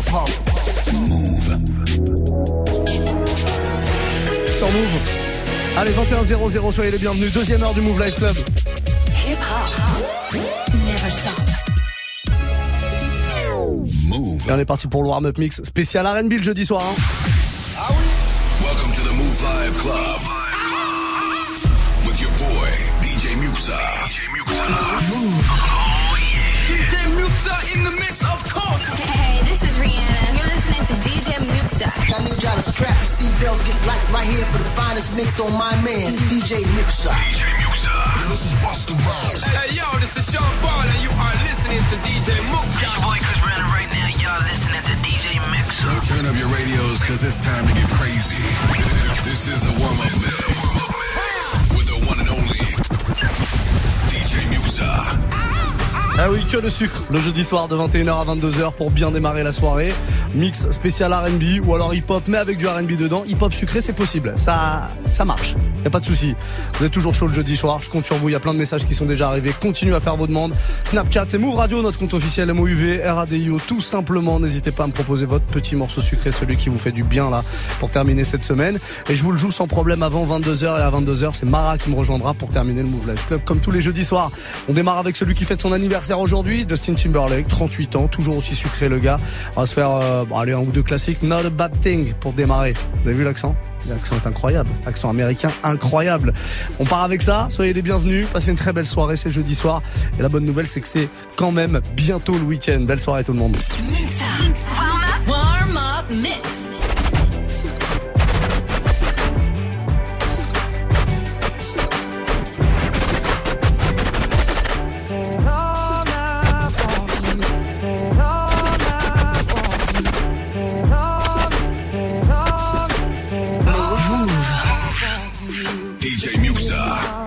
hip-hop. Move. Sur Move. Allez, 21h00, soyez les bienvenus. Deuxième heure du Move Life Club. Hip-hop. Never stop. Move. Et on est parti pour le warm-up mix spécial R&B le jeudi soir. Welcome to the Move Live Club. With your boy, DJ Muxa. Move. DJ Muxa in the mix, of course. Hey, this is Rihanna. You're listening to DJ Muxa. I need y'all to strap your seatbelts, get light right here for the finest mix on my man, DJ Muxa. DJ Muxa. This is Busta Rhymes. Hey yo, this is Sean Paul and you are listening to DJ Muxa. Your boy Chris Brandon right now. Y'all listening to DJ Muxa. Turn up your radios, cause it's time to get crazy. This is the warm-up mix with the one and only DJ Muxa. Ah oui, que le sucre, le jeudi soir de 21h à 22h pour bien démarrer la soirée. Mix spécial R&B ou alors hip-hop mais avec du R&B dedans. Hip-hop sucré, c'est possible, ça marche, y a pas de souci. Vous êtes toujours chaud le jeudi soir, je compte sur vous, il y a plein de messages qui sont déjà arrivés. Continuez à faire vos demandes. Snapchat, c'est Move Radio, notre compte officiel MOUV, RADIO, tout simplement. N'hésitez pas à me proposer votre petit morceau sucré, celui qui vous fait du bien là pour terminer cette semaine. Et je vous le joue sans problème avant 22h et à 22h, c'est Mara qui me rejoindra pour terminer le Move Life Club comme tous les jeudis soirs. On démarre avec celui qui fête son anniversaire aujourd'hui, Justin Timberlake, 38 ans, toujours aussi sucré le gars. On va se faire allez, un ou deux classiques. Not a Bad Thing pour démarrer. Vous avez vu l'accent ? L'accent est incroyable, accent américain incroyable. On part avec ça, soyez les bienvenus, passez une très belle soirée, c'est jeudi soir. Et la bonne nouvelle, c'est que c'est quand même bientôt le week-end. Belle soirée tout le monde. Muxa. Warm up mix. DJ Muxa.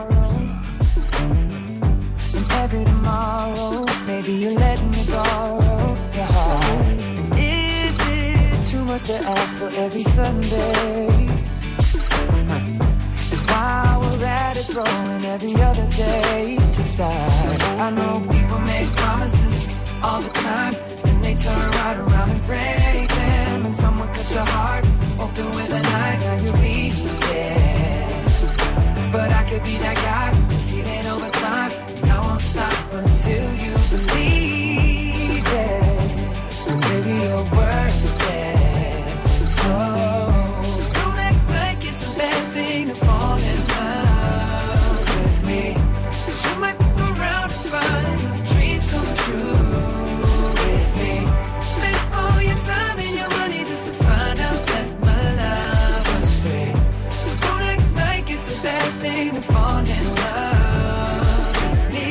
Every tomorrow, maybe you're letting me borrow your heart. And is it too much to ask for every Sunday? And while we're at it, rolling every other day to start. I know people make promises all the time, and they turn right around and break them. And someone cut your heart open with a knife, now you're bleeding. But I could be that guy to feel it over time. And I won't stop until you believe it. 'Cause baby, you're worth it. So don't act like it's a bad thing to fall in love with me. 'Cause you might fuck around and find your dreams come true with me. Spend all your time and your money just to find out that my love was free. So don't act like it's a bad thing to fall in love with me.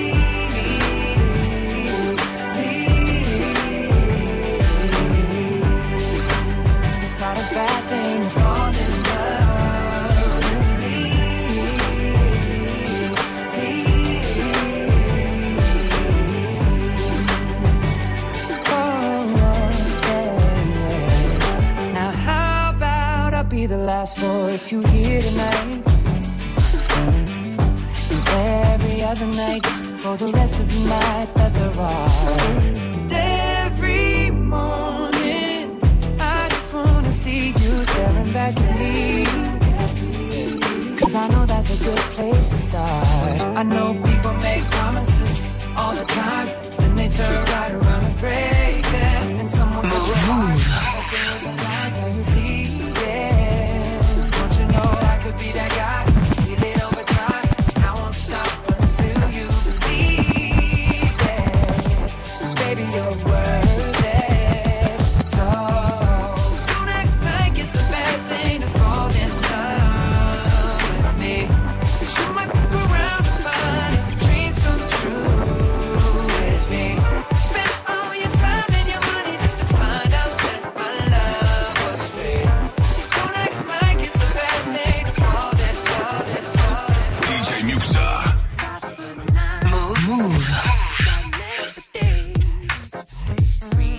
It's not a bad thing to fall in love with me. Oh, yeah. Now how about I be the last voice you hear tonight? And every other night for the rest of the nights that there are. And every morning I just wanna see you staring back at me. 'Cause I know that's a good place to start. I know people make promises all the time, then they turn right around and break them. And someone puts your heart open with a knife, now you bleeding. Don't you know I could be that guy? Feel it over time, I won't stop until you believe it. 'Cause baby, you're worth it. So don't act like it's a bad thing to fall in love with me. 'Cause you might fuck around and find your dreams come true with me. Spend all your time and your money just to find out that my love was free. So don't act like it's a bad thing to fall in love with. DJ Muxa. Move.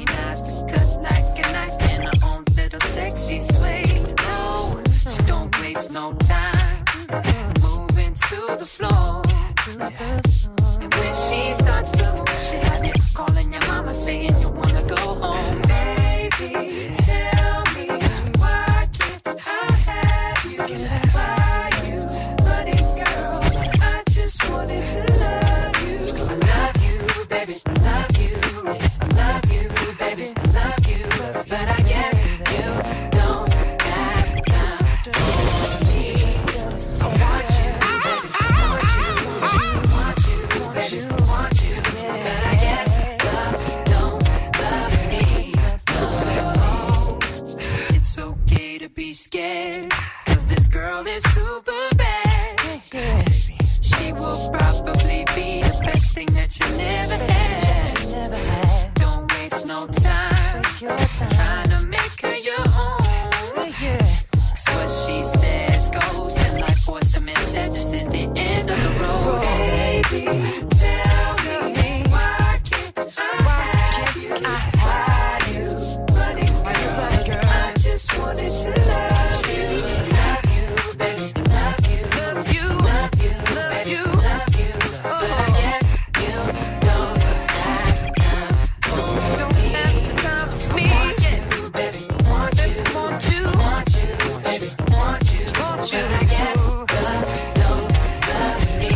scared, 'cause this girl is super bad. She will probably be the best thing that you never had. Don't waste no time trying to make her your own. 'Cause what she says goes, and like Forrest Mann said, this is the end of the road. Baby, tell me, why can't I have you? Running girl, I just wanted to love you. Love you, baby, love you. Love you, love you, love you, love you. But I guess you don't have time for me. Don't have the time for me. Want you, baby, want you, want you, want you, baby, want you, want you. But I guess love don't love me.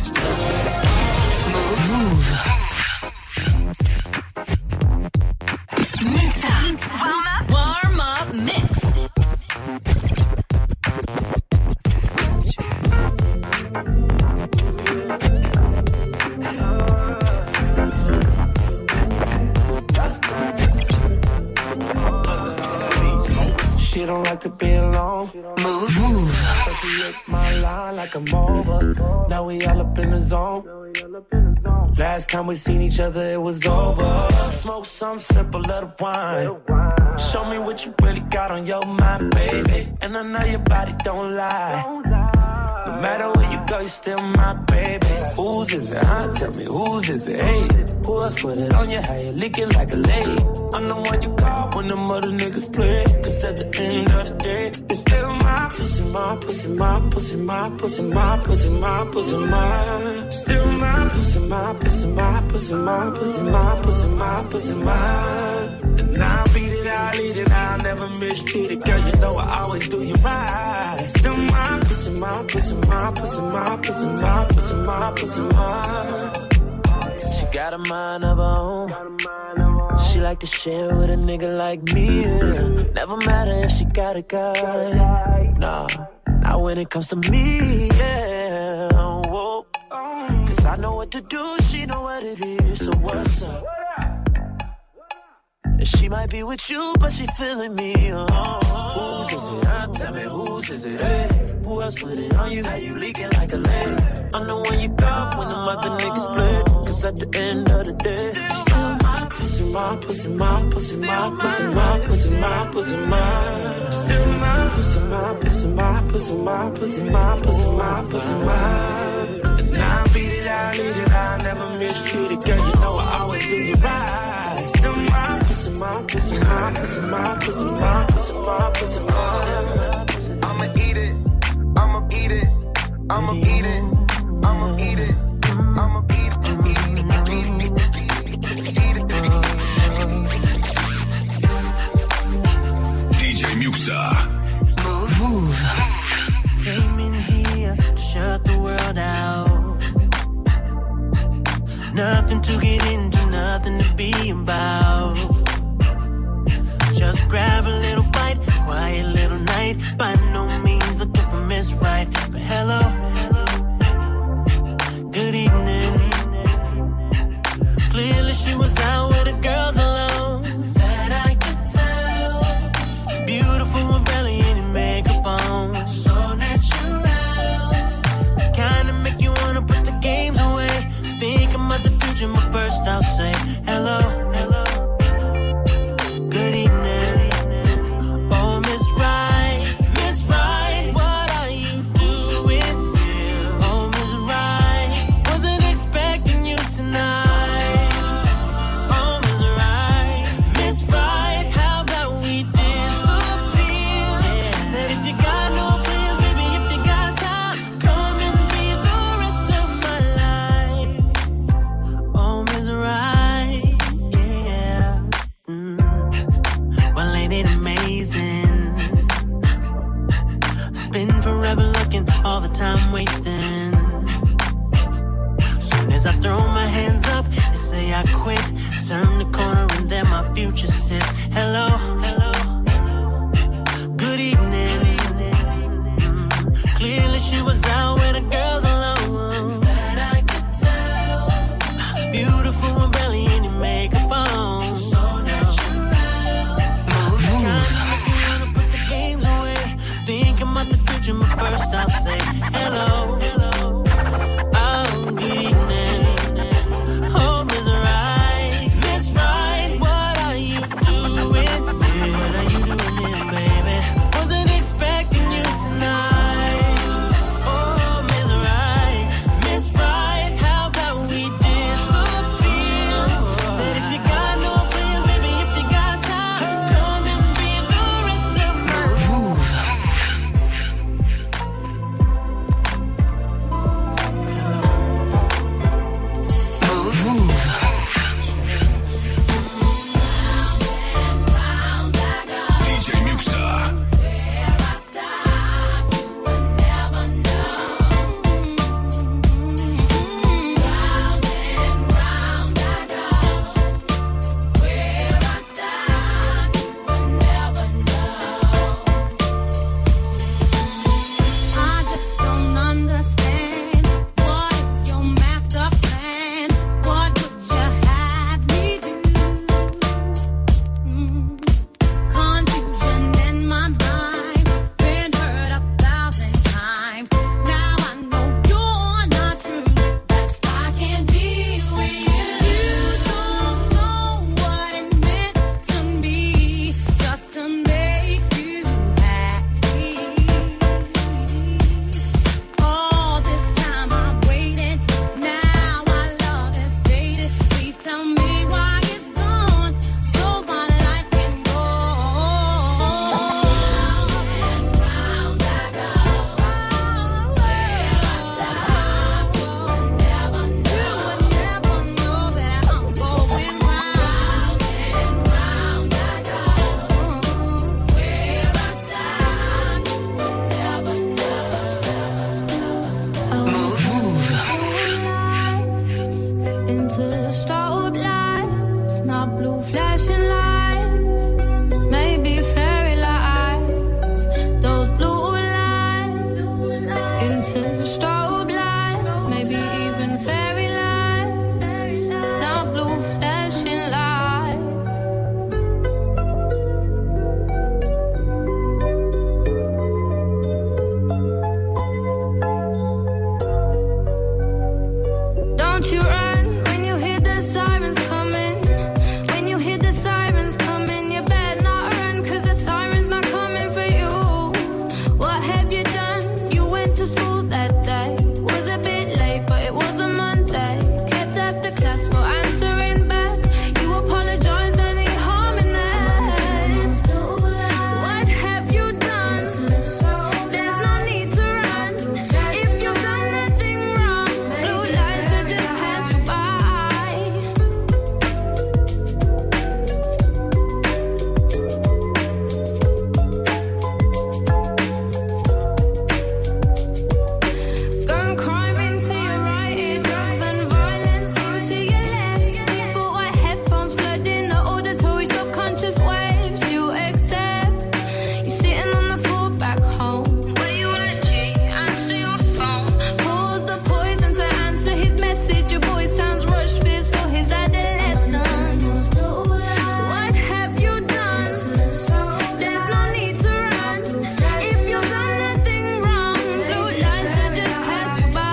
Move. Mix up. Warm up mix. She don't like to be alone. Move. She hit my line like I'm over. Now we all up in the zone. Last time we seen each other, it was over. Smoke some, sip a little wine. Show me what you really got on your mind, baby. And I know your body don't lie. No matter where you go, you're still my baby. Whose is it, huh? Tell me whose is it, hey. Who else put it on you? How you licking like a lady? I'm the one you call when them other niggas play. 'Cause at the end of the day, it's still my pussy, my pussy, my pussy, my pussy, my pussy, my pussy, my. Still my pussy, my pussy, my pussy, my pussy, my pussy, my pussy, my. And I'll beat it, I'll eat it, I'll never mistreat it. Girl, you know I always do you right. Still my pussy, my pussy, my pussy, my pussy, my pussy, my pussy, my. She got a mind of her own. She like to share with a nigga like me, yeah. Never matter if she got a guy. Nah, not when it comes to me, yeah. Whoa. 'Cause I know what to do, she know what it is, so what's up? She might be with you, but she feeling me, Whose is it, huh? Tell me whose is it, hey. Who else put it on you? How you leaking like a lady? I'm the one you got when them other niggas play. 'Cause at the end of the day, still my pussy, my pussy, my pussy, my pussy, my pussy, my pussy, my. Still my pussy, my pussy, my pussy, my pussy, my pussy, my pussy, my. And I'll beat it, I'll eat it, I'll never mistreat it. Girl, you know I always do you right. Still my pussy, my pussy, my pussy, my pussy, my pussy, my pussy, my. I'ma eat it. I'ma eat it. I'ma eat it. I'ma eat it. I'ma eat it. DJ Muxa. Move. Came in here, shut the world out. Nothing to get into, nothing to be about. Just grab a little bite, quiet little night. By no means looking for Miss Right, but hello, good evening. Clearly she was out with the girls alone. That I could tell. Beautiful with belly and makeup on, so natural. Kinda make you wanna put the games away. Think about the future, but first I'll say hello, hello. Good evening. Oh, Miss Right, Miss Right, what are you doing here? Oh, Miss Right, wasn't expecting you tonight. Oh, Miss Right, Miss Right, how about we disappear? Said if you got no plans, baby, if you got time, come and be the rest of my life. Oh, Miss Right, yeah. Well, ain't it amazing? Spend forever looking, all the time wasting. Soon as I throw my hands up and say I quit, turn the corner and then my future sits. Hello, hello. Good evening. Clearly she was out with the girls alone. That I could tell. Beautiful with belly and your makeup on, so natural. Move. Kinda make you wanna put the games away. flashing lights, maybe fairy lights, those blue lights into strobe light, maybe even fairy lights, now blue flashing lights. Don't you run when you hear the sirens coming. When you hear the sirens coming, you better not run, 'cause the siren's not coming for you. What have you done? You went to school that day. Was a bit late, but it was a Monday. Kept after class for answering back. You apologized, any harm in that? What have you done? There's no need to run. If you've done nothing wrong, blue lights should just pass you by. Gun crime into your right ear, drugs and violence into your left. Default white headphones flooding the auditory subconscious waves you accept. You're sitting on the floor back home. Where you at, G? Answer your phone. Pause the poison to answer his message. Your boy sounds rushed, fears for his adolescence. What have you done? There's no need to run. If you've done nothing wrong, blue lights should just pass you by.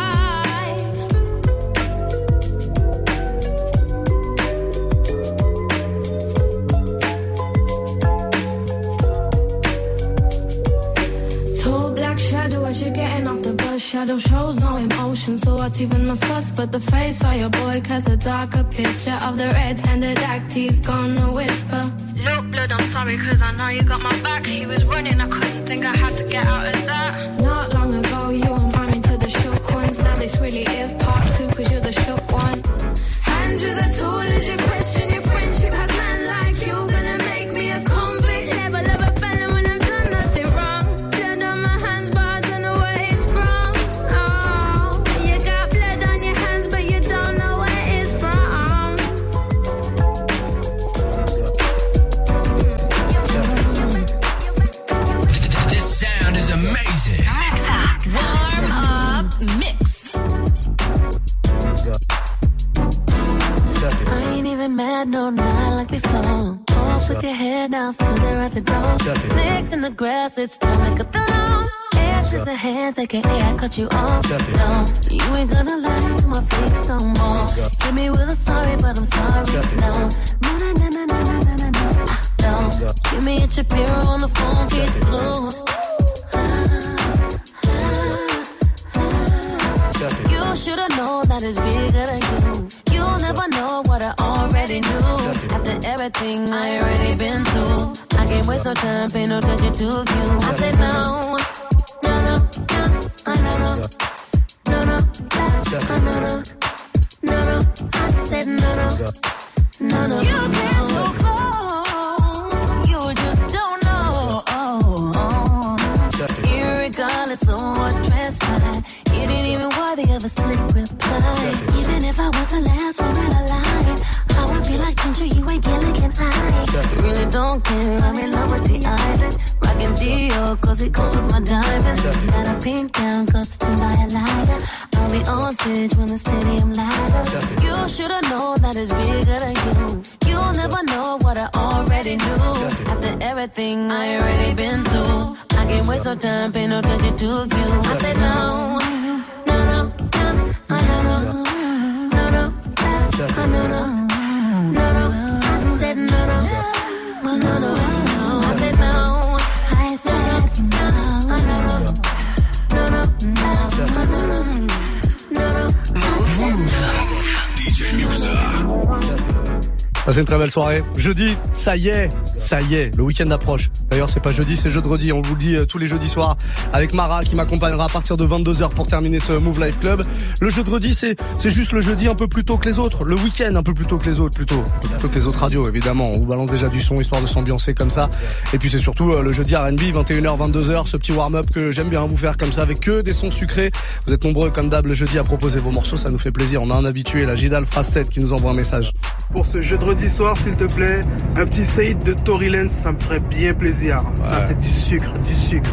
Tall black shadow as you're getting off the bus. Shadow shows no emotion, so what's even the fuss? But the face of your boy casts a darker picture of the red-handed act he's gonna whisper. Look, blood, I'm sorry, 'cause I know you got my back. He was running, I couldn't think I had to get out of that. Not long ago, you and me to the shook ones. Now this really is part two, 'cause you're the shook one. Hand you the tool as you question your friendship. Has man like you gonna make me a convict? Level of a felon when I've done nothing wrong. Blood on my hands, but I don't know where it's from. Oh, you got blood on your hands, but you don't know where it's from. This sound is amazing. Warm up mix. I ain't even mad, no, not like before. Off with your head down, still there at the door. Snakes in the grass, it's time to cut the lawn. Hands is a hands, aka I cut you off. Don't, you ain't gonna lie to my face no more. Hit me with a sorry, but I'm sorry. No, no, no, no, no, no, no, no, no. Don't, give me a Shapiro on the phone, case closed. You should've known that it's bigger than you. You'll never know what I already knew. After everything I already been through, I can't waste no time, pay no attention to you. I said no, no, no, no, no, no, no, no, no, no, no, no. I said no, no, no, no. You can't so close, you just don't know. Irregardless of what transpired, you didn't even worthy of a slick reply. Even if I was the last one in a line, I would be like Ginger, you ain't Gilligan Eye. Really don't care, I'm in love with the island. Rockin' Dior, 'cause it goes with my diamonds. Got a pink gown, costume by a lighter. I'll be on stage when the stadium light up. You should've known that it's bigger than you. You'll never know what I already knew. After everything I already been through, I can't waste no time, pay no attention to you. I said no, no, no, no, no, no, no, no, no, no, no. I said no, no, no, no, no. I said no, I said no, no, no, no, no, no, no, no. DJ Muxa. Passez une très belle soirée. Jeudi, ça y est, le week-end approche. D'ailleurs, c'est pas jeudi, c'est jeudi. On vous le dit tous les jeudis soirs avec Mara qui m'accompagnera à partir de 22h pour terminer ce Move Life Club. Le jeudi, c'est juste le jeudi un peu plus tôt que les autres. Le week-end un peu plus tôt que les autres, plutôt que les autres radios, évidemment. On vous balance déjà du son histoire de s'ambiancer comme ça. Et puis c'est surtout le jeudi R&B, 21h, 22h, ce petit warm-up que j'aime bien vous faire comme ça avec que des sons sucrés. Vous êtes nombreux comme d'hab le jeudi à proposer vos morceaux, ça nous fait plaisir. On a un habitué, la Gidal Phrase 7 qui nous envoie un message. Pour ce jeudi samedi soir, s'il te plaît, un petit Saïd de Tory Lanez, ça me ferait bien plaisir. Ouais. Ça, c'est du sucre, du sucre.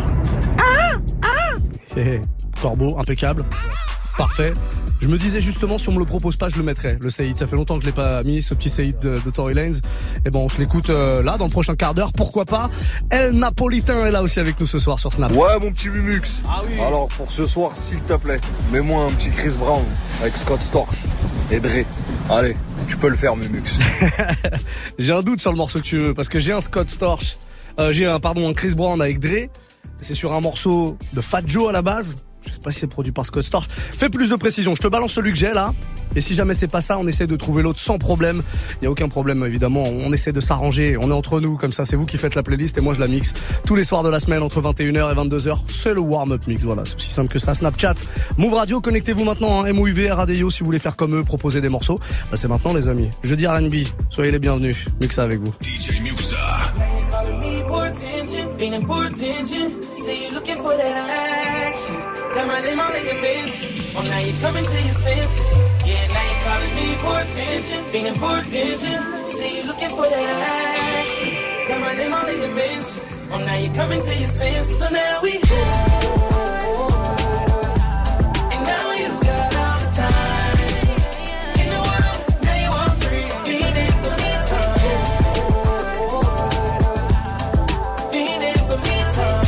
Corbeau, impeccable. Parfait. Je me disais justement, si on me le propose pas, je le mettrais, le Saïd. Ça fait longtemps que je l'ai pas mis, ce petit Saïd de Tory Lanez. Et bon, on se l'écoute là, dans le prochain quart d'heure. Pourquoi pas? El Napolitain est là aussi avec nous ce soir sur Snap. Ouais, mon petit Mumux. Ah oui. Alors, pour ce soir, s'il te plaît, mets-moi un petit Chris Brown avec Scott Storch et Dre. Allez, tu peux le faire, Mumux. J'ai un doute sur le morceau que tu veux, parce que j'ai un Scott Storch, un Chris Brown avec Dre. C'est sur un morceau de Fat Joe à la base. Je sais pas si c'est produit par Scott Storch. Fais plus de précision. Je te balance celui que j'ai là. Et si jamais c'est pas ça, on essaie de trouver l'autre sans problème. Il y a aucun problème évidemment. On essaie de s'arranger. On est entre nous comme ça. C'est vous qui faites la playlist et moi je la mixe tous les soirs de la semaine entre 21h et 22h. C'est le warm-up mix. Voilà, c'est aussi simple que ça. Snapchat, Move Radio. Connectez-vous maintenant. Hein. MOUV, RADIO si vous voulez faire comme eux, proposer des morceaux. Bah, c'est maintenant les amis. Jeudi R&B. Soyez les bienvenus. Muxa avec vous. DJ Muxa. Got my name all in your mentions. Oh, now you're coming to your senses. Yeah, now you're calling me for attention. Feeling for attention. See you looking for that action. Got my name all in your mentions. Oh, now you're coming to your senses. So now we and now you got all the time in the world. Now you are free. Feeling for me time. Feeling for me time.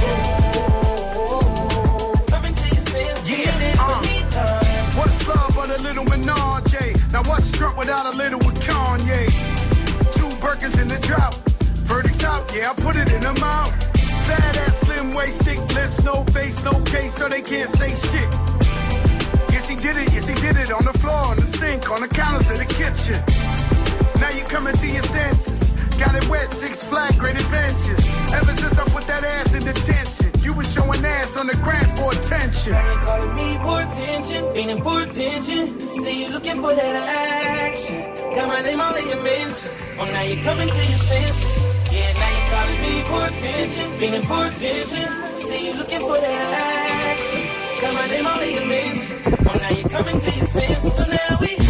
Little Menage, now what's Trump without a little with Kanye? 2 Birkins in the drought, verdicts out, yeah, I put it in the mouth. Fat ass, slim waist, thick lips, no face, no case, so they can't say shit. Yes, he did it on the floor, on the sink, on the counters in the kitchen. Now you coming to your senses. Got it wet, 6 Flags, great adventures. Ever since I put that ass in detention, you was showing ass on the gram for attention. Now you calling me for attention, feeling for attention. See you looking for that action. Got my name all in your mentions. Oh, now you coming to your senses. Yeah, now you calling me for attention, feeling for attention. See you looking for that action. Got my name all in your mentions. Oh, now you coming to your senses. So now we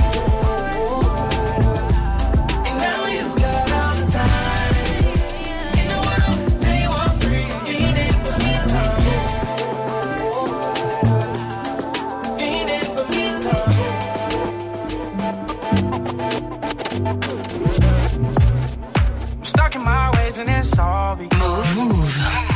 Move.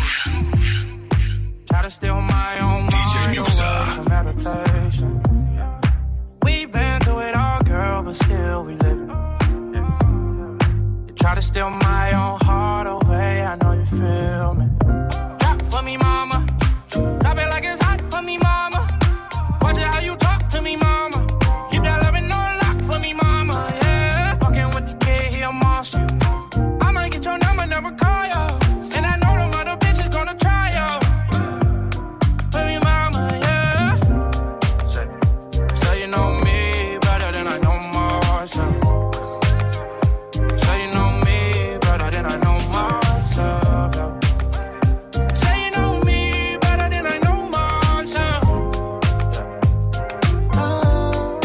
Try to steal my own DJ Muxa. Meditation. We've been through it all, girl, but still we live it. You try to steal my own heart away, I know you feel me. Drop for me, mama. Drop it like it's hot for me, mama. Watch it how you talk to me, mama. Keep that loving on lock for me, mama. Yeah, fucking with the kid, he a monster. I might get your number, never call you. And I know them other bitches gonna try you. Baby mama, yeah. So you know me better than I know myself. So you know me better than I know myself. Say you know me better than I know myself. Oh,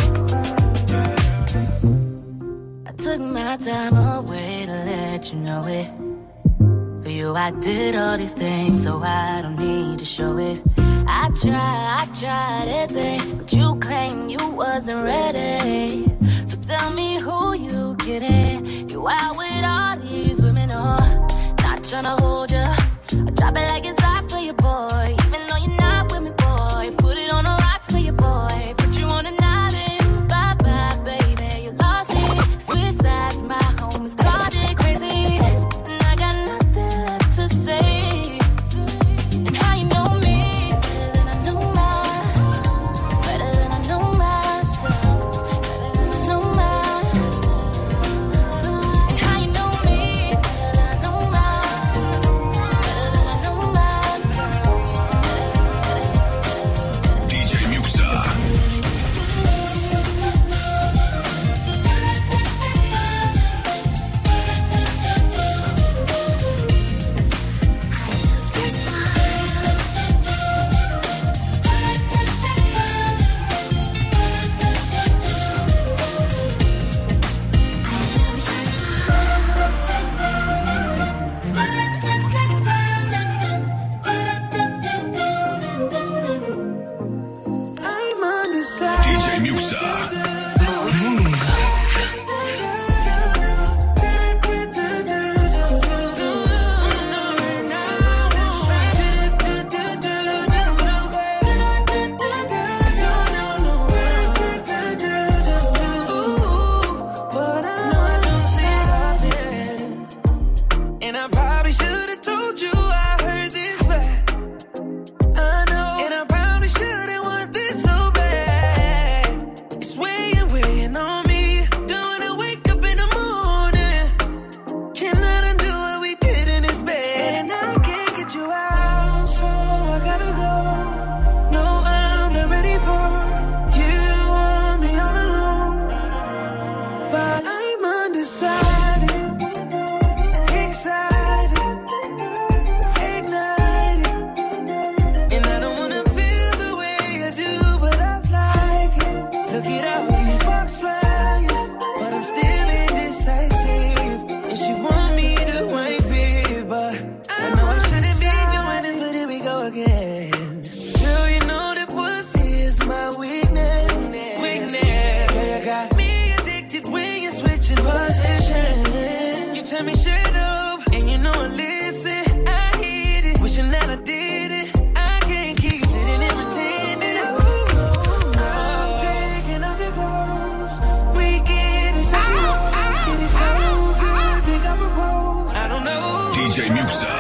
I took my time away to let you know it. For you I did all these things, so I don't need to show it. I tried everything, but you claim you wasn't ready. So tell me who you kidding. You out with all these women, oh, not tryna hold ya. I drop it like it's hot for your boy, even though you're not with me, boy. Put it on the rocks for your boy, put you on an island. Bye bye, baby, you lost it. Switch sides, my homies called it crazy, and I got nothing left to say. And how you know me better than I know better than I know myself, better than I know and how you know me telling me shut up. And you know I listen, I hit it. Wishing that I did it. I can't keep sitting and pretending. I'm taking off your clothes. We getting sexual. Getting so good, think I'm a rose. I don't know. DJ Muxa.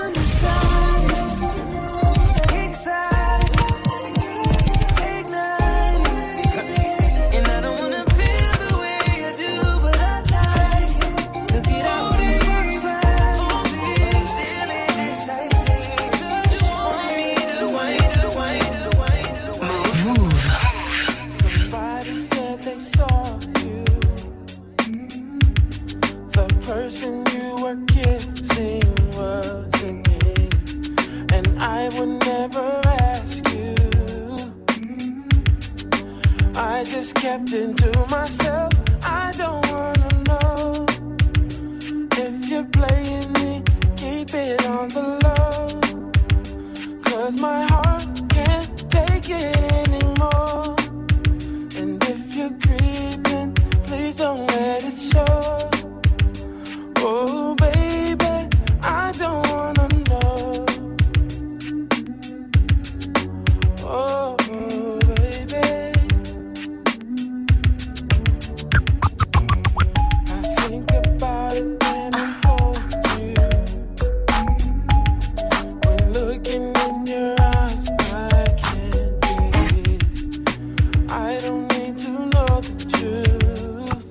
Person you were kissing wasn't me, and I would never ask you. I just kept it to myself. I don't wanna know if you're playing me. Keep it on the low, 'cause my heart can't take it anymore. And if you're creeping, please don't let it show. Oh, baby, I don't wanna know. Oh, baby. I think about it when I hold you. When looking in your eyes, I can't breathe. I don't need to know the truth.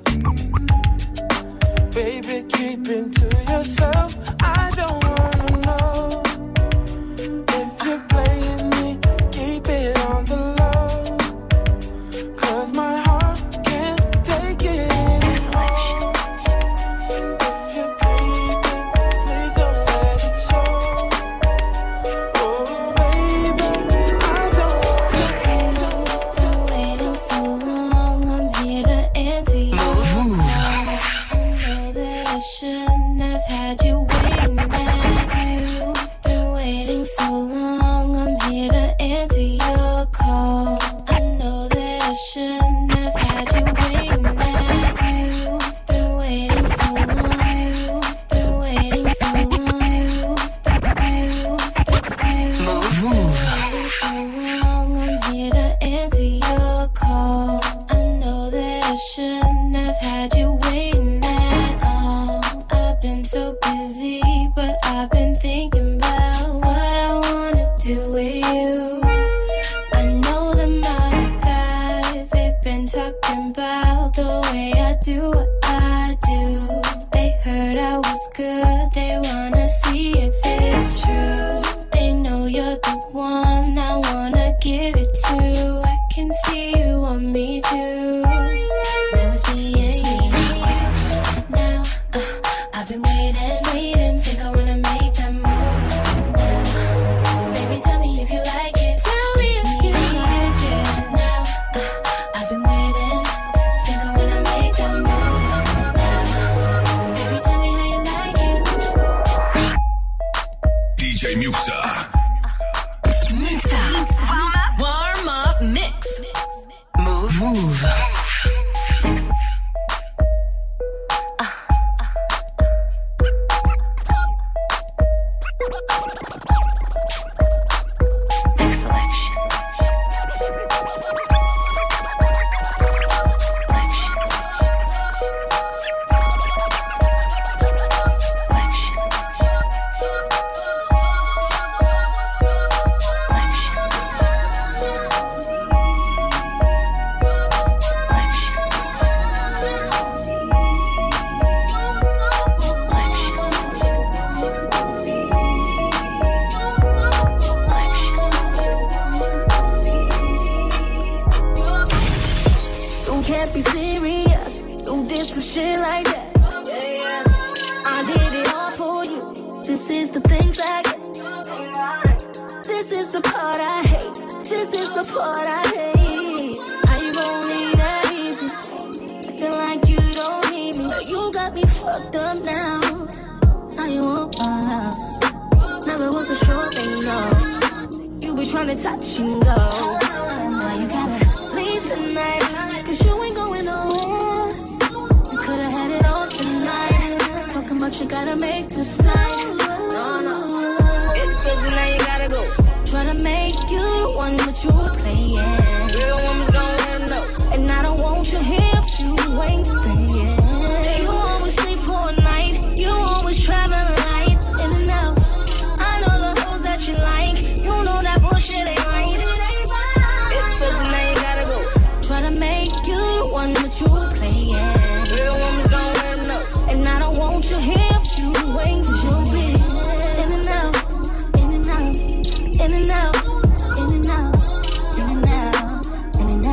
Baby, keep it to yourself. I don't wanna know if you're playing me. Keep it on the low, 'cause my heart can't take it anymore. If you're creeping, please don't let it show. Oh, baby, I don't wanna know. Been waiting so long, I'm here to answer you. I shouldn't have had you waiting. You've been waiting so long, I'm here to answer your call. I know that I shouldn't have had you waiting. You've been waiting so long. You've been waiting so long. You've been waiting so long, I'm here to answer your call. I know that I shouldn't have had you waiting at all. I've been so busy, but I've been thinking about what I wanna do with you. I know them other guys, they've been talking about the way I do what I do. They heard I was good, they wanna see if it's true. They know you're the one I wanna give it to. I can see you want me too. Now it's me and you. Now I've been waiting, think I wanna make that move now. Baby, tell me if you like it. Tell me if you like it. Now I've been waiting, think I wanna make that move now. Baby, tell me how you like it. DJ Muxa. Muxa. Warm up mix. Move. Can't be serious, do this some shit like that. I did it all for you. This is the things I get. This is the part I hate. This is the part I hate. How you gon' leave that easy? Acting like you don't need me. You got me fucked up now. Now you want my love. Never was a sure thing, no. You be trying to touch and go. Why you gotta leave tonight? 'Cause you ain't going nowhere. You could've had it all tonight. Talking about what you gotta make this night. No. It's cause now you gotta go. Try to make you the one that you playing. Real woman's gonna know. And I don't want you here if you ain't staying. You always sleep for a night. You always travel light. In and out. I know the hoes that you like. You know that bullshit ain't right. It's cause now you gotta go. Try to make you the one that you playing. Real woman's gonna know. And I don't want you here if you ain't staying. In and out. In and out. In and out, in and out, in and out, in and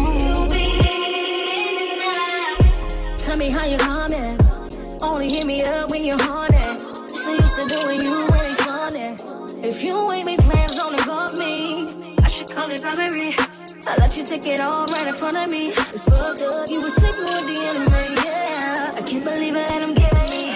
out. Tell me how you coming. Only hit me up when you're horny. So used to doing you when it's funny. If you ain't make plans, don't involve me. I should call it robbery. I let you take it all right in front of me. It's fucked up. You were sleeping with the enemy, yeah. I can't believe it, let him get me.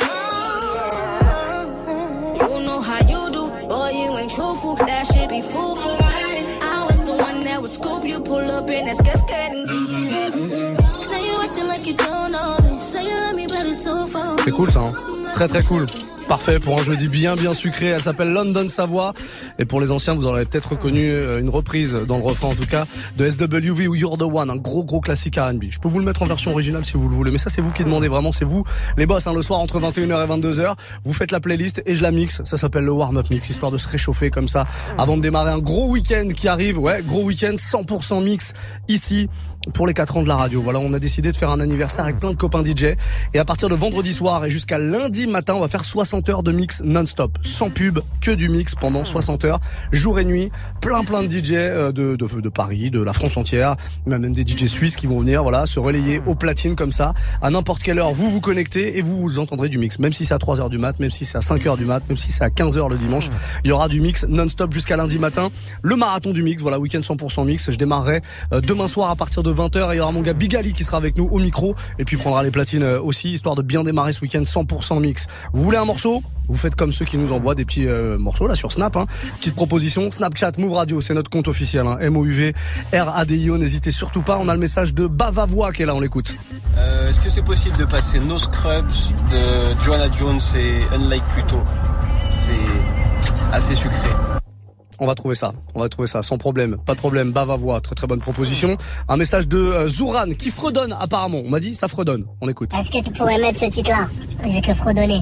You know how you do. Boy, you ain't truthful, that shit be foolful. I was the one that would scoop you, pull up in that skirt and now you acting like you don't know this. Say you love me, but it's so far. C'est cool ça, hein. Très très cool. Parfait pour un jeudi bien sucré. Elle s'appelle London Savoie. Et pour les anciens, vous en avez peut-être reconnu une reprise dans le refrain en tout cas de SWV ou You're the One, un gros classique R&B. Je peux vous le mettre en version originale si vous le voulez, mais ça c'est vous qui demandez vraiment, c'est vous les boss hein, le soir entre 21h et 22h. Vous faites la playlist et je la mixe. Ça s'appelle le warm-up mix, histoire de se réchauffer comme ça avant de démarrer un gros week-end qui arrive. Ouais, gros week-end 100% mix ici pour les 4 ans de la radio. Voilà, on a décidé de faire un anniversaire avec plein de copains DJ. Et à partir de vendredi soir et jusqu'à lundi matin, on va faire 60 heures de mix non-stop. Sans pub, que du mix pendant 60 heures, jour et nuit. Plein de DJ de Paris, de la France entière. Même des DJ suisses qui vont venir, voilà, se relayer au platine comme ça. À n'importe quelle heure, vous connectez et vous entendrez du mix. Même si c'est à 3h du mat, même si c'est à 5h du mat, même si c'est à 15h le dimanche. Il y aura du mix non-stop jusqu'à lundi matin. Le marathon du mix, voilà, week-end 100% mix. Je démarrerai demain soir à partir de 20h et il y aura mon gars Big Ali qui sera avec nous au micro et puis prendra les platines aussi, histoire de bien démarrer ce week-end 100% mix. Vous voulez un morceau ? Vous faites comme ceux qui nous envoient des petits morceaux là sur Snap, hein. Petite proposition, Snapchat, Move Radio, c'est notre compte officiel, hein. MOUV RADIO, n'hésitez surtout pas. On a le message de Bavavoix qui est là, on l'écoute. Est-ce que c'est possible de passer No Scrubs de Joanna Jones et Unlike Pluto? C'est assez sucré. On va trouver ça sans problème, pas de problème. Bavavoix, très bonne proposition. Un message de Zouran qui fredonne apparemment. On m'a dit ça fredonne. On écoute. Est-ce que tu pourrais mettre ce titre-là? Je vais te le fredonner.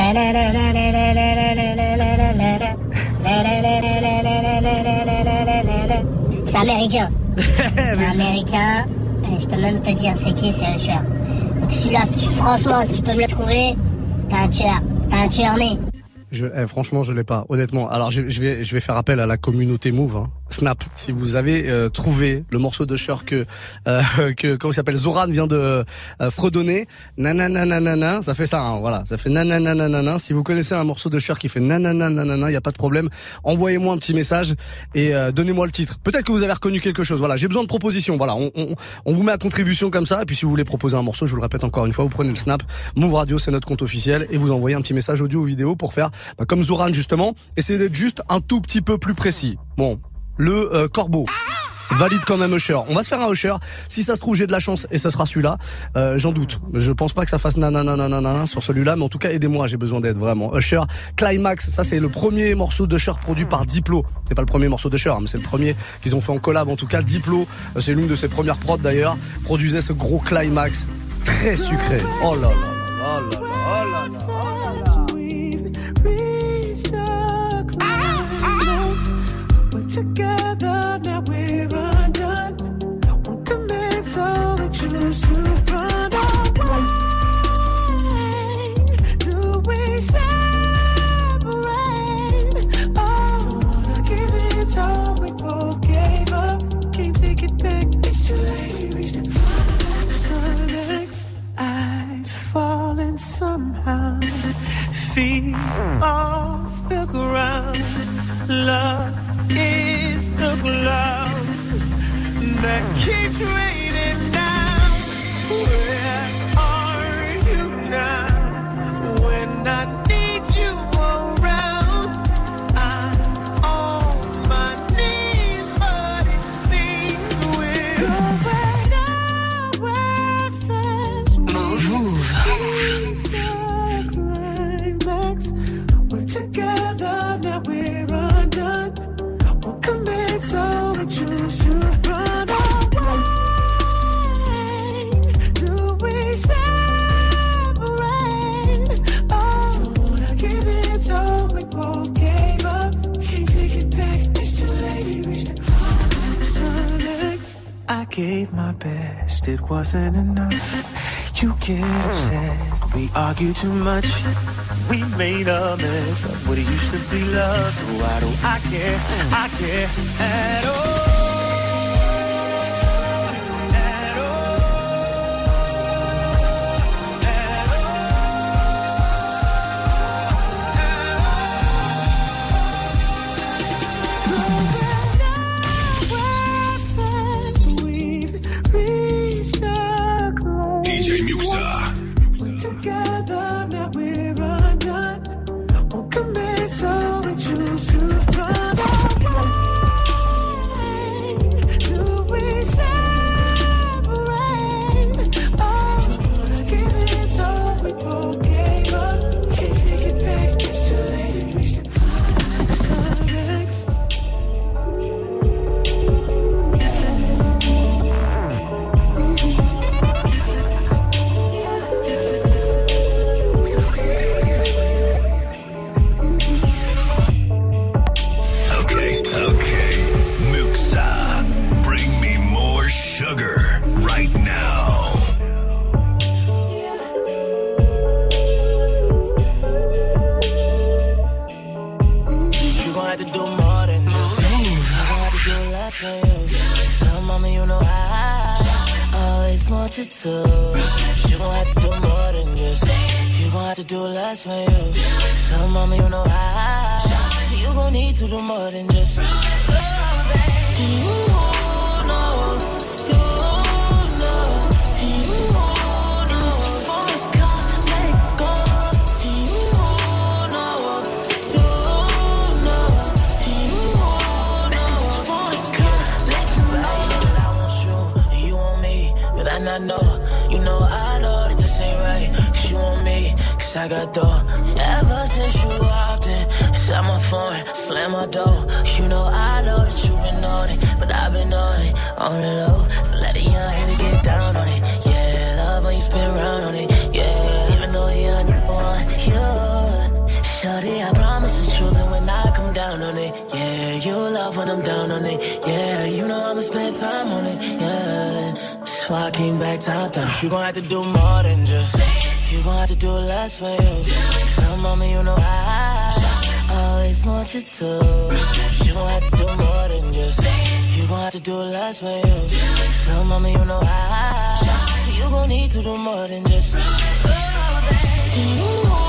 C'est américain. C'est américain. Je peux même te dire c'est qui, c'est Usher. Donc celui-là, franchement, si tu peux me le trouver, t'es un tueur né. Franchement, je l'ai pas, honnêtement. Alors, je vais faire appel à la communauté Move, hein. Snap. Si vous avez trouvé le morceau de Cher que comment il s'appelle, Zoran vient de fredonner, nanananana, ça fait ça, hein, voilà, ça fait nanananana. Si vous connaissez un morceau de Cher qui fait nanananana, y a pas de problème. Envoyez-moi un petit message et donnez-moi le titre. Peut-être que vous avez reconnu quelque chose. Voilà, j'ai besoin de propositions. Voilà, on vous met à contribution comme ça. Et puis si vous voulez proposer un morceau, je vous le répète encore une fois, vous prenez le Snap, Move Radio, c'est notre compte officiel, et vous envoyez un petit message audio ou vidéo pour faire comme Zoran justement. Essayez d'être juste un tout petit peu plus précis. Bon. Le corbeau valide quand même Usher. On va se faire un Usher. Si ça se trouve, j'ai de la chance et ça sera celui-là. J'en doute. Je pense pas que ça fasse nanananana sur celui-là, mais en tout cas, aidez-moi. J'ai besoin d'aide vraiment. Usher Climax. Ça, c'est le premier morceau d'Usher produit par Diplo. C'est pas le premier morceau d'Usher, mais c'est le premier qu'ils ont fait en collab. En tout cas, Diplo, c'est l'une de ses premières prods d'ailleurs, produisait ce gros Climax très sucré. Oh là là, oh là là, oh là là, oh là là. Together now we're undone. Won't commit, so we choose to run away. Do we separate? Oh, don't wanna give it, so we both gave up. Can't take it back. It's too late. Reach the climax. I've fallen somehow. Feet off the ground. Love is the cloud that keeps raining down. Where are you now? When I need you around, I'm on my knees, but it seems we're going nowhere fast. Move. gave my best, it wasn't enough. You get upset, we argue too much. We made a mess of what it used to be love. So why do I care at all? You gon' have to do more than just. You gon' have to do less for you. So mama, you know I. So you gon' need to do more than just. Do you know? You know? Do you know? It's for the God, let it go. Do you know? You know? Do you know? It's for the God, let you know. I want you, you want me, but I not know. You know I know that this ain't right. Cause you want me, cause I got dough. Ever since you walked in, shut my phone, slam my door. You know I know that you been on it, but I've been on it, on the low. So let a young hater get down on it. Yeah, love when you spin around on it. Yeah, even though you're on you. Shorty, I promise the truth, and when I come down on it, yeah, you love when I'm down on it. Yeah, you know I'ma spend time on it. Yeah, that's why I came back top down. You gon' have to do more than just. You gon' have to do less for you. So mama, you know I always want you to. You gon' have to do more than just. You gon' have to do less for you. So mama, you know I. So you gon' need to do more than just. Do you know?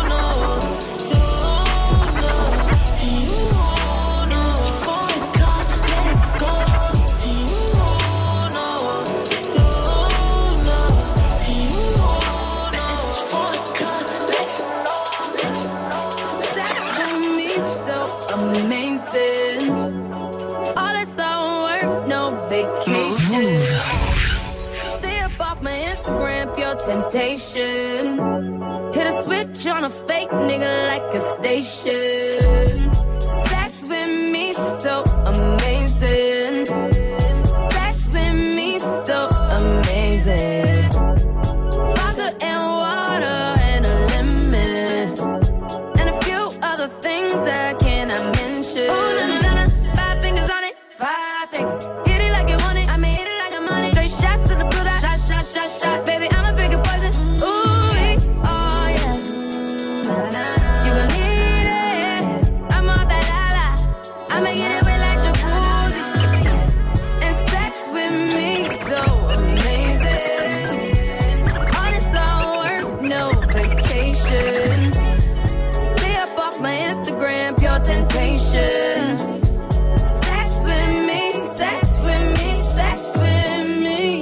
Amazing. All this all work, no vacation. Stay up off my Instagram, pure temptation. Hit a switch on a fake nigga like a station. Sex with me so amazing. Sex with me so amazing. Vodka and water and a lemon. And a few other things that cannot mention. Ooh, na na na, 5 fingers on it, 5 fingers. Hit it like you want it, I mean hit it like I'm on it. Straight shots to the blue dot, shot, shot, shot, shot. Baby, I'm a bigger poison. Ooh, oh yeah. You gon' need it. I'm all that la la. I'ma get it wet like jacuzzi. And sex with me so amazing. All this all work, no vacation. Stay up off my Instagram, pure temptation. Sex with me, sex with me, sex with me.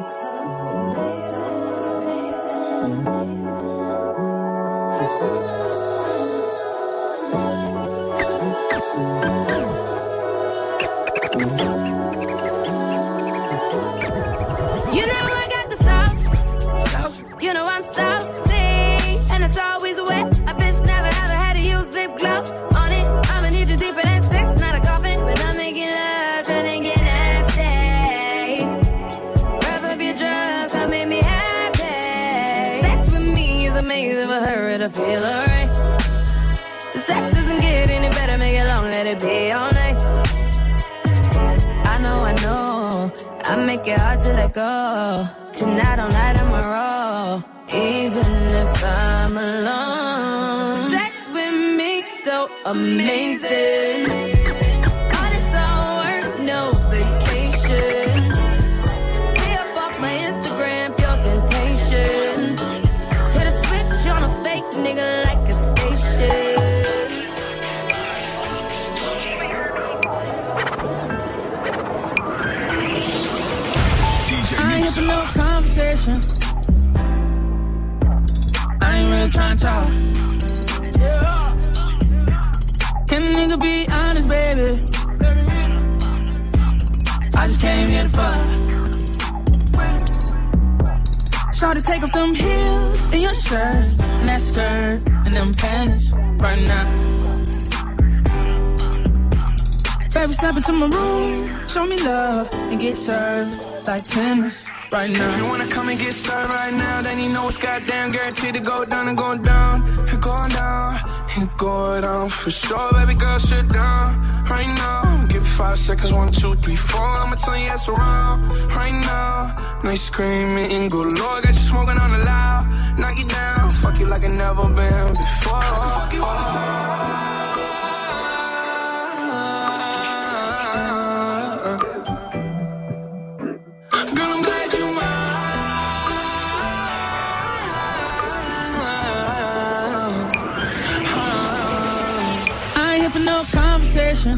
You know I got the sauce. You know I'm saucy, and it's always wet. A bitch never ever had to use lip gloss on it. I'ma need you deeper than sex, not a coffin. But I'm making love, trying to get nasty. Rev up your drugs, come make me happy. Sex with me is amazing for her to feel alright. The sex doesn't get any better, make it long, let it be all night. I know, I make it hard to let go. Tonight all night I'm a roll, even if I'm alone. Sex with me so amazing. All this all work, no vacation. Stay up off my Instagram, pure temptation. Hit a switch on a fake nigga like a station. I ain't here for no conversation. I ain't really tryna talk. Can a nigga be honest, baby? I just came here to fuck. Shawty, take off them heels and your shirt and that skirt and them panties right now. Baby, step into my room, show me love and get served like tennis right now. If you wanna come and get started right now, then you know it's goddamn guaranteed to go down and go down. It going down, it going down for sure. Baby girl, sit down right now. Give it 5 seconds, 1, 2, 3, 4. I'ma tell you yes around right now. Nice screaming and go low. Got you smoking on the loud. Knock you down, fuck you like I never been before. I can fuck you all the time. Girl, I'm glad you mine. I ain't here for no conversation.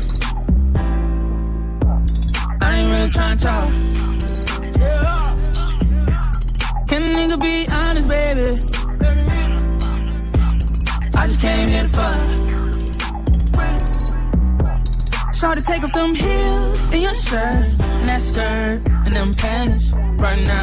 I ain't really tryna talk. Can a nigga be honest, baby? I just came here to fuck. Shawty, take off them heels and your shirt and that skirt and them panties right now.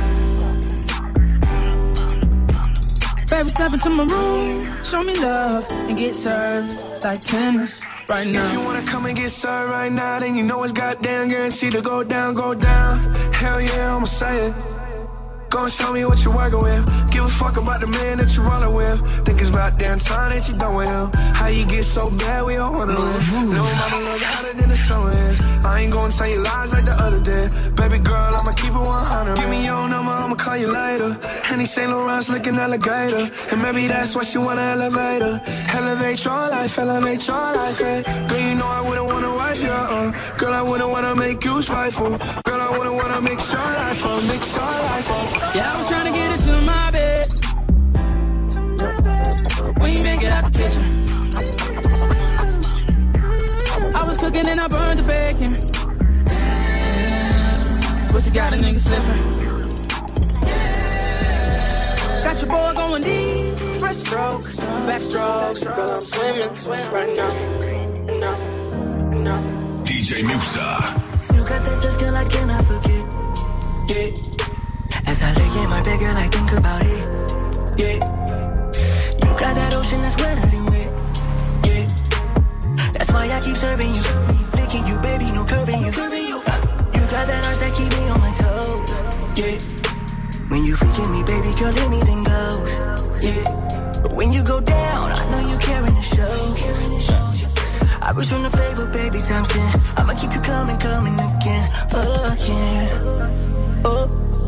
Baby, step into my room, show me love and get served like tennis right now. If you wanna come and get started right now, then you know it's goddamn guaranteed to go down, go down. Hell yeah, I'ma say it. Go and show me what you're working with. Give a fuck about the man that you're rolling with. Think it's about damn time that you done with him. How you get so bad, we all wonder with. No mama look hotter than the sun is. I ain't gonna tell you lies like the other day. Baby girl, I'ma keep it 100. Give me your number, I'ma call you later. Henny St. Laurent's looking alligator. And maybe that's why she want an elevator. Elevate your life, eh? Girl, you know I wouldn't wanna wife you, Girl, I wouldn't wanna make you spiteful. Girl, I wouldn't wanna mix your life up, mix your life up. Yeah, I was tryna get into my bed. When you make it out the kitchen, I was cooking and I burned the bacon. Pussy got a nigga slipping. Got your boy going deep. Fresh strokes, backstroke. Girl, I'm swimming right now. DJ Musa. You got that sex, girl, I cannot forget. Yeah. As I lay in my bed, girl, I think about it. Yeah. You got that ocean that's wetter than wet. Yeah. That's why I keep serving you. Licking you, baby, no curving you. You got that arch that keep me on my toes. Yeah. When you freaking me, baby, girl, anything goes. Yeah. But when you go down, I know you carrying the show. I return the favor, baby, times 10. I'ma keep you coming again. Again. Oh.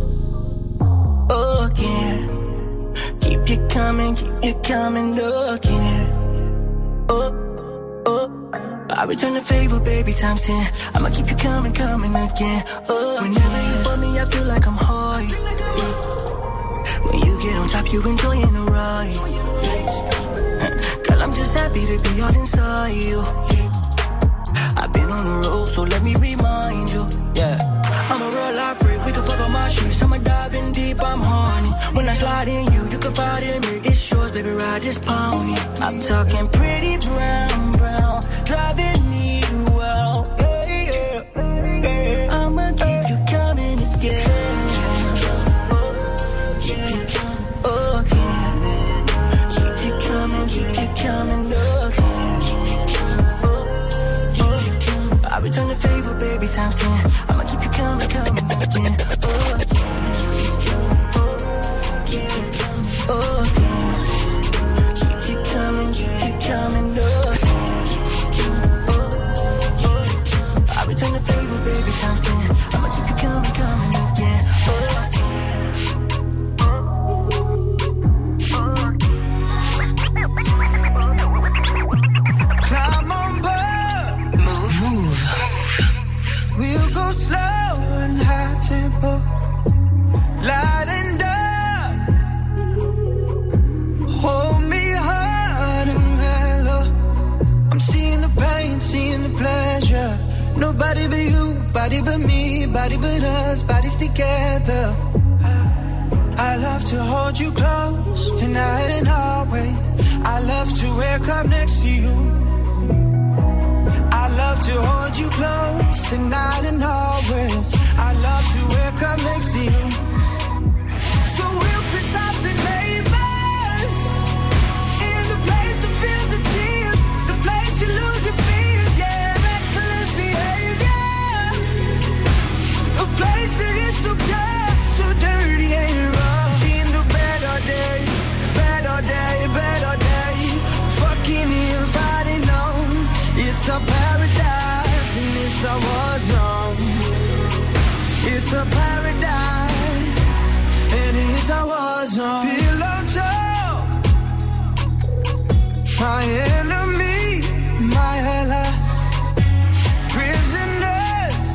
Again. Keep you coming again. Oh. I return the favor, baby, times 10. I'ma keep you coming again. Oh. Whenever you for me, I feel like I'm high. When you get on top, you enjoying the ride. Girl, I'm just happy to be all inside you. I've been on the road, so let me remind you. Yeah, I'm a real life freak. We can fuck on my shoes. I'ma dive in deep, I'm horny. When I slide in you can find in me. It's yours, baby, ride this pony. I'm talking pretty brown, driving me well. Yeah. I'ma keep you coming again. Coming again. I return the favor, baby, times 10. I'ma keep you coming again. Keep you coming again. I return the favor, baby, times 10. I'ma keep you coming again. body but me, body but us, bodies together. I love to hold you close, tonight and always. I love to wake up next to you. I love to hold you close, tonight and always. I love to wake up next to you. So we'll piss off the neighbors, in the place that feels the tears, the place you lose your fears, yeah, reckless behavior. A place that is so pure, so dirty and raw. In the bed all day, bed all day, bed all day. Fucking inviting on. It's a paradise and it's a war zone. It's a paradise and it's a war zone. Pillow talk, my enemy, my ally. Prisoners,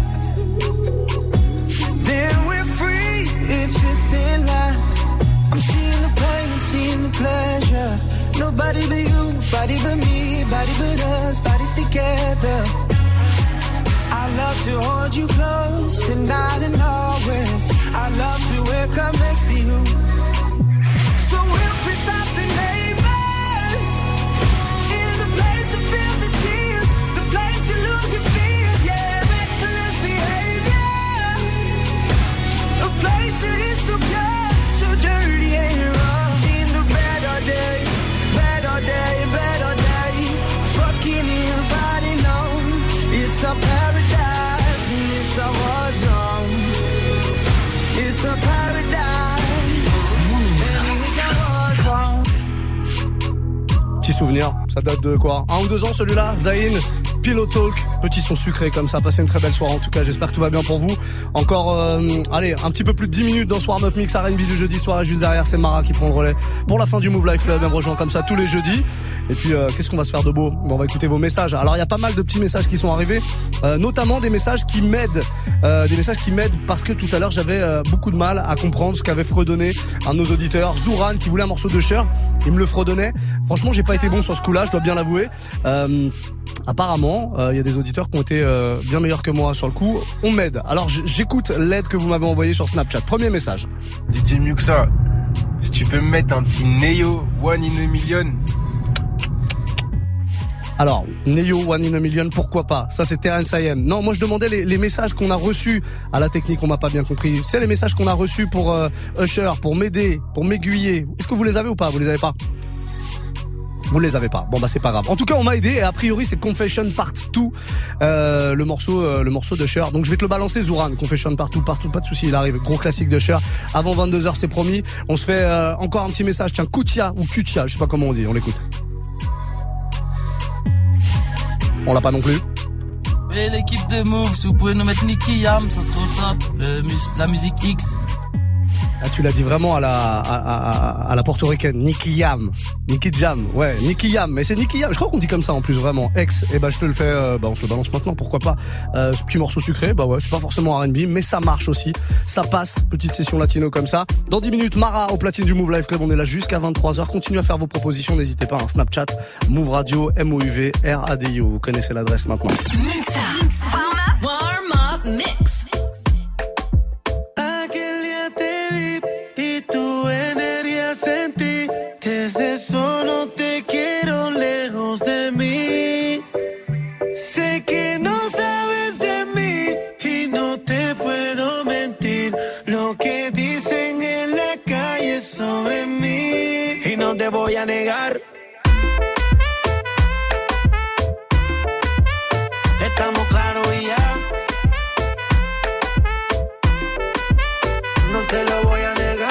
then we're free. It's a thin line. I'm seeing the pain, seeing the pleasure. Nobody but you, body but me, body but us, bodies together. I love to hold you close, tonight and always. I love to wake up next to you. So we'll piss off the neighbors, in the place that feels the tears, the place you lose your fears, yeah, reckless behavior. A place that is so pure, so dirty and raw. In the bed all day, bed all day, bed all day. Fucking inviting on. It's a paradise and it's a war zone. It's a paradise and it's a war zone. Petit souvenir, ça date de quoi, 1 ou 2 ans celui-là, Zayn, Pillow Talk, petit son sucré comme ça, passez une très belle soirée en tout cas, j'espère que tout va bien pour vous. Encore, allez, un petit peu plus de 10 minutes dans ce warm-up mix R&B du jeudi soir et juste derrière c'est Mara qui prend le relais pour la fin du Move Life Club, elle me rejoint comme ça tous les jeudis. Et puis qu'est-ce qu'on va se faire de beau? On va écouter vos messages. Alors il y a pas mal de petits messages qui sont arrivés, notamment des messages qui m'aident, parce que tout à l'heure j'avais beaucoup de mal à comprendre ce qu'avait fredonné un de nos auditeurs, Zouran, qui voulait un morceau de Cher, il me le fredonnait. Franchement j'ai pas été bon sur ce coup-là, je dois bien l'avouer. Apparemment, il y a des auditeurs qui ont été bien meilleurs que moi sur le coup. On m'aide. Alors j'écoute l'aide que vous m'avez envoyée sur Snapchat. Premier message. DJ Muxa, si tu peux me mettre un petit Neo One in a Million. Alors, Neo One in a Million, pourquoi pas? Ça c'est Terence IM. Non, moi je demandais les messages qu'on a reçus à la technique, on m'a pas bien compris. C'est les messages qu'on a reçus pour Usher, pour m'aider, pour m'aiguiller. Est-ce que vous les avez ou pas? Vous les avez pas? Vous les avez pas. Bon bah c'est pas grave. En tout cas, on m'a aidé et a priori c'est Confession Part 2, le morceau de Cher. Donc je vais te le balancer, Zouran. Confession Part 2, pas de souci, il arrive. Gros classique de Cher. Avant 22h, c'est promis. On se fait encore un petit message. Tiens, Kutia ou Kutia, je sais pas comment on dit. On l'écoute. On l'a pas non plus. Et l'équipe de Move, si vous pouvez nous mettre Nicky Jam, ça serait au top. La musique X. Ah, tu l'as dit vraiment à la portoricaine, Nicky Jam, ouais, Nicky Jam, mais c'est Nicky Jam, je crois qu'on dit comme ça en plus vraiment, ex, et bah je te le fais, on se le balance maintenant, pourquoi pas, ce petit morceau sucré, bah ouais, c'est pas forcément R&B, mais ça marche aussi, ça passe, petite session latino comme ça. Dans 10 minutes, Mara au platine du Move Life Club, on est là jusqu'à 23h, continuez à faire vos propositions, n'hésitez pas, Snapchat, Move Radio, MOUV, RADIO, vous connaissez l'adresse maintenant. Muxa, warm up mix. Desde solo te quiero lejos de mí. Sé que no sabes de mí y no te puedo mentir. Lo que dicen en la calle sobre mí y no te voy a negar. Estamos claros y ya. No te lo voy a negar.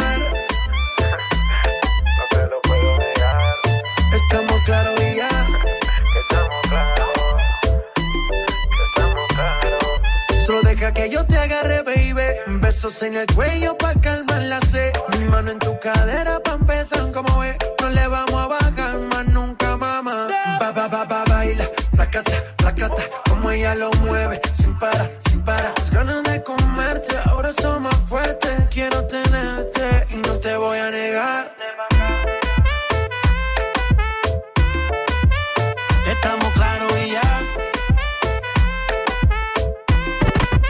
Estamos claros y ya. Estamos claros. Solo deja que yo te agarre, baby. Besos en el cuello pa' calmar la sed. Mi mano en tu cadera pa' empezar, como ves. No le vamos a bajar más nunca, mamá. Baila, placata, placata. Como ella lo mueve, sin parar, sin parar. Las ganas de comerte, ahora son más fuertes. Quiero tenerte y no te voy a negar. Estamos claros y ya.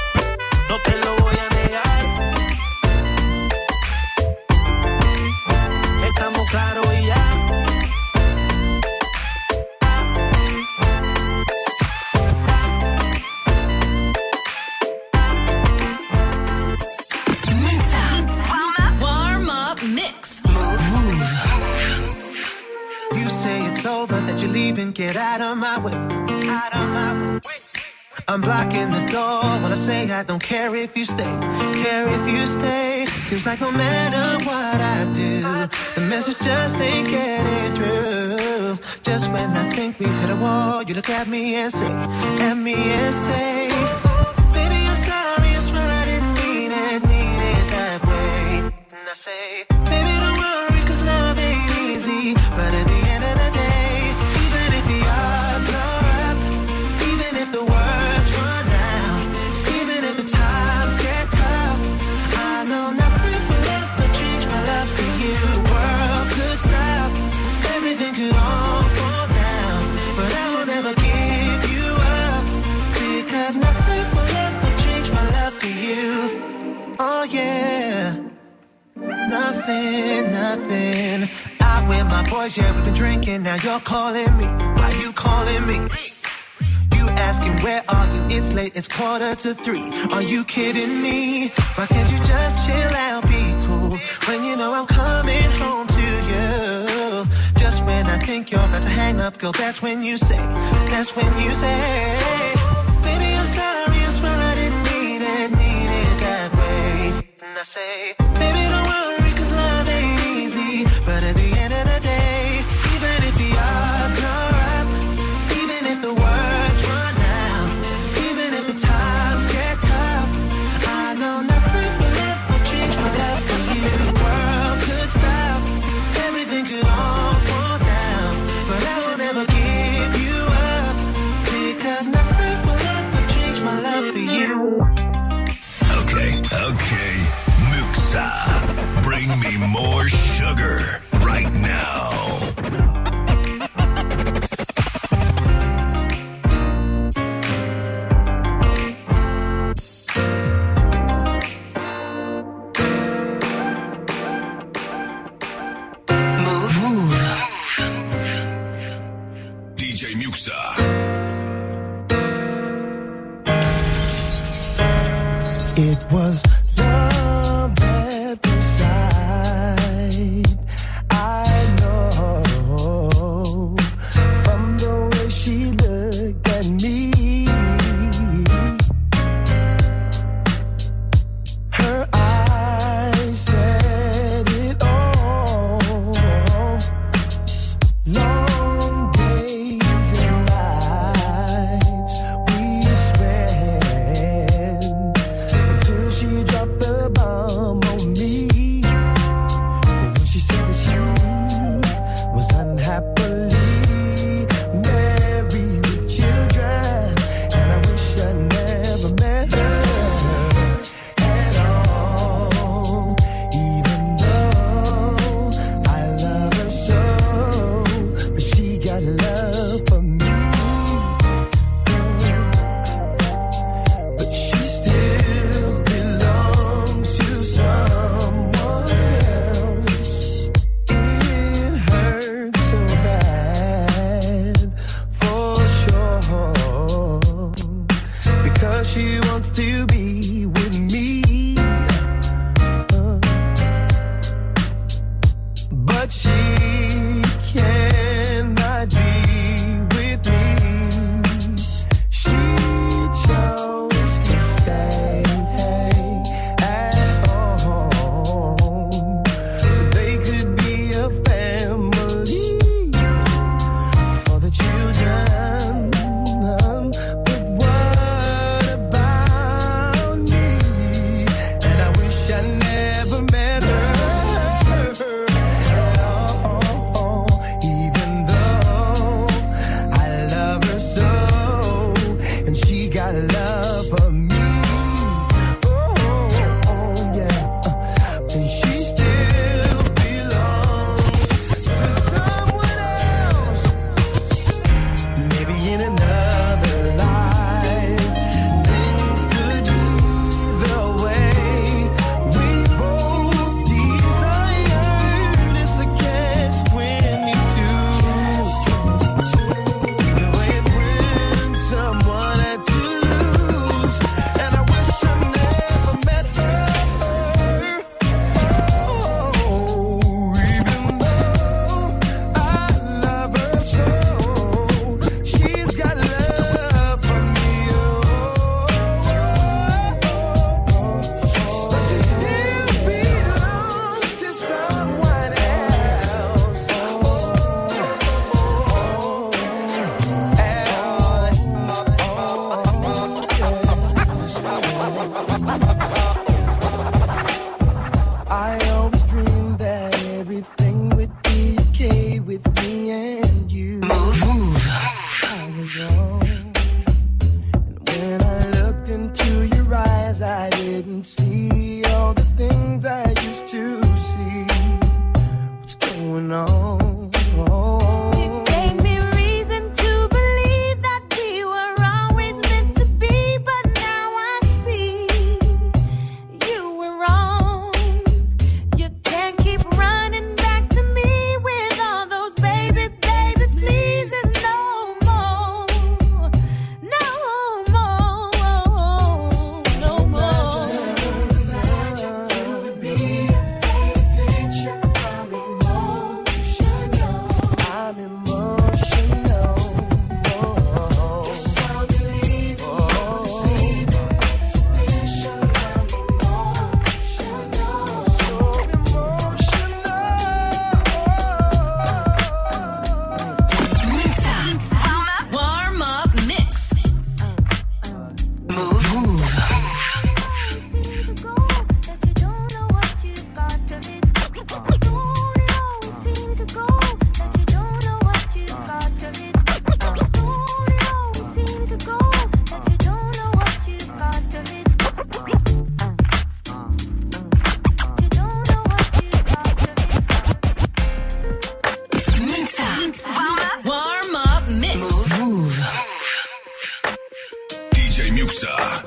leaving, get out of my way. Out of my way. I'm blocking the door when I say I don't care if you stay. Care if you stay. Seems like no matter what I do, the message just ain't getting through. Just when I think we've hit a wall, you look at me and say, baby, I'm sorry, I swear I didn't mean it that way. And I say, baby, don't worry, cause love ain't easy. But at the end of the day, even if the odds are up, even if the words run out, even if the times get tough, I know nothing will ever change my love for you. World could stop, everything could all fall down, but I will never give you up, because nothing will ever change my love for you. Oh yeah, nothing. Out with my boys, yeah, we've been drinking, now you're calling me. Why you calling me? You asking where are you? It's late, it's 2:45. Are you kidding me? Why can't you just chill out, be cool, when you know I'm coming home to you? Just when I think you're about to hang up, girl, that's when you say, baby, I'm sorry, I swear I didn't mean it that way. And I say, baby, don't worry, cause love ain't easy. But at the end of the day, even if the odds are up, even if the words run out, even if the times get tough, I know nothing will ever change my love for you. The world could stop, everything could all fall down, but I will never give you up, because nothing will ever change my love for you. Okay, Muxa, bring me more sugar right now. Move. DJ Muxa. It was love at first sight. I know from the way she looked at me. Her eyes said it all. Long days and nights we spent until she dropped Mix. Move. DJ Muxa.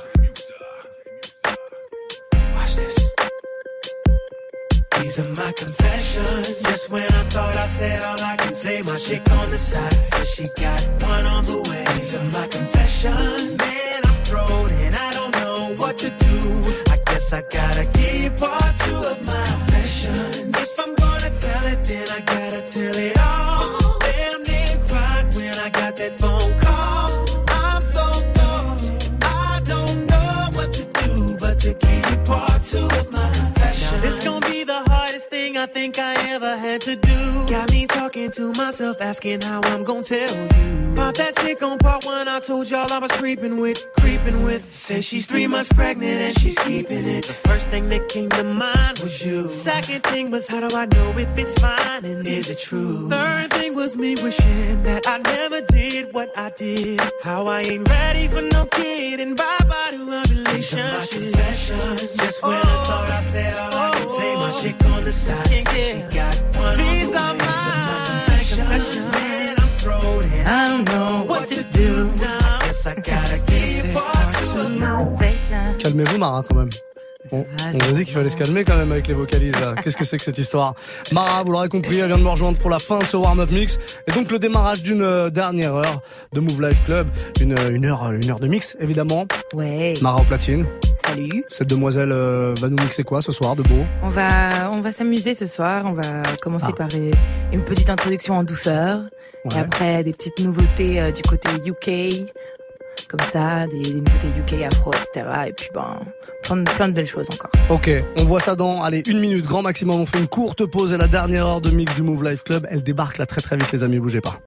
Watch this. These are my confessions. Just when I thought I said all I can say, my chick on the side says she got one on the way. These are my confessions. Man, I'm thrown and I don't know what to do. I guess I gotta give part two of my confessions. If I'm gonna tell it, then I gotta tell it all. Damn near cried when I got that phone call. I'm so dumb, I don't know what to do but to give you part two of my confessions. Now this gon' be the hardest thing I think I ever had to do. Got me talking to myself, asking how I'm gon' tell you about that chick on part one. I told y'all I was creeping with. Say she's 3 months pregnant and she's keeping it. The first thing that came to mind was you. Second thing was, how do I know if it's fine and is it true? Third thing was me wishing that I never did what I did. How I ain't ready for no kid and bye-bye to a relationship. These are my confessions. Just when I thought I said all I could say, my chick on the side said she got one. These are my confessions. Man, I'm thrown and I don't know what to do now. I gotta give part two. Calmez-vous, Mara, quand même. On a dit qu'il fallait se calmer quand même avec les vocalises. Qu'est-ce que c'est que cette histoire? Mara, vous l'aurez compris, elle vient de me rejoindre pour la fin de ce warm-up mix. Et donc le démarrage d'une dernière heure de Move Life Club. Une heure de mix, évidemment. Ouais. Mara au platine. Salut. Cette demoiselle va nous mixer quoi ce soir de beau? On va s'amuser ce soir. On va commencer par une petite introduction en douceur. Ouais. Et après, des petites nouveautés du côté UK. Comme ça, des nouveautés UK, afro, etc. Et puis plein de belles choses encore. Ok, on voit ça dans 1 minute, grand maximum. On fait une courte pause et la dernière heure de mix du Move Life Club, elle débarque là très très vite les amis, bougez pas.